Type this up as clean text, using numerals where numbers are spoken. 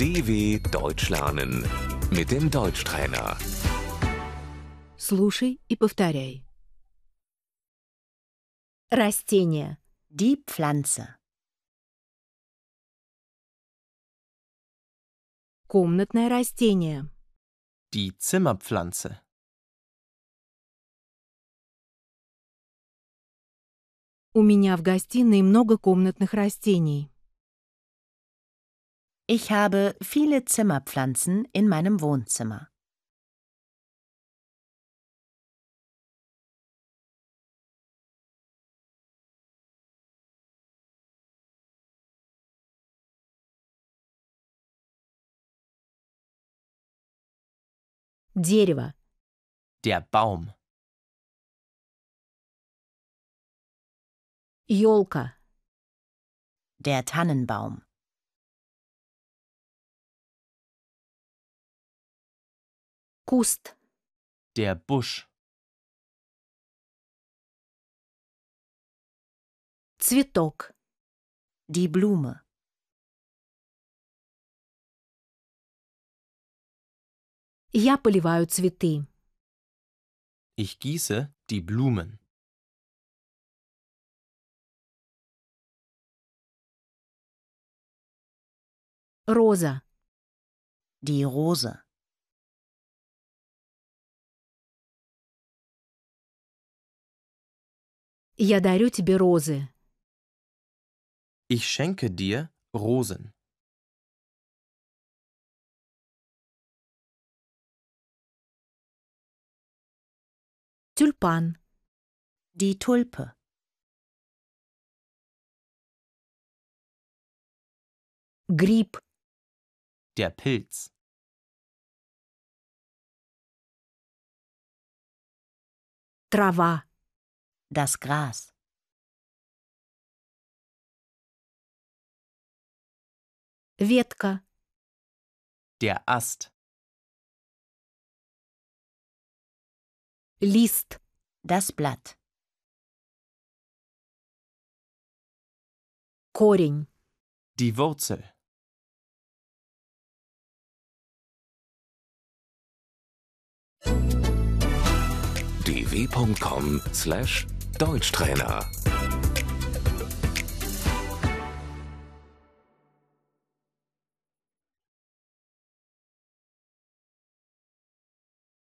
DW Deutsch lernen mit dem Deutschtrainer. Слушай и повторяй. Растение. Die Pflanze. Комнатное растение. Die Zimmerpflanze. У меня в гостиной много комнатных растений. Ich habe viele Zimmerpflanzen in meinem Wohnzimmer. Дерево. Der Baum. Ёлка. Der Tannenbaum. Куст. Der Busch. Цветок. Die Blume. Я поливаю цветы. Ich gieße die Blumen. Роза. Die Rose. Я дарю тебе розы. Ich schenke dir Rosen. Тюльпан. Die Tulpe. Гриб. Der Pilz. Трава. Das Gras. Ветка. Der Ast. Лист. Das Blatt. Корень. Die Wurzel. dw.com/Deutschtrainer